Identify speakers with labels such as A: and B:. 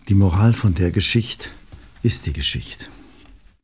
A: Die Moral von der Geschichte ist die Geschichte.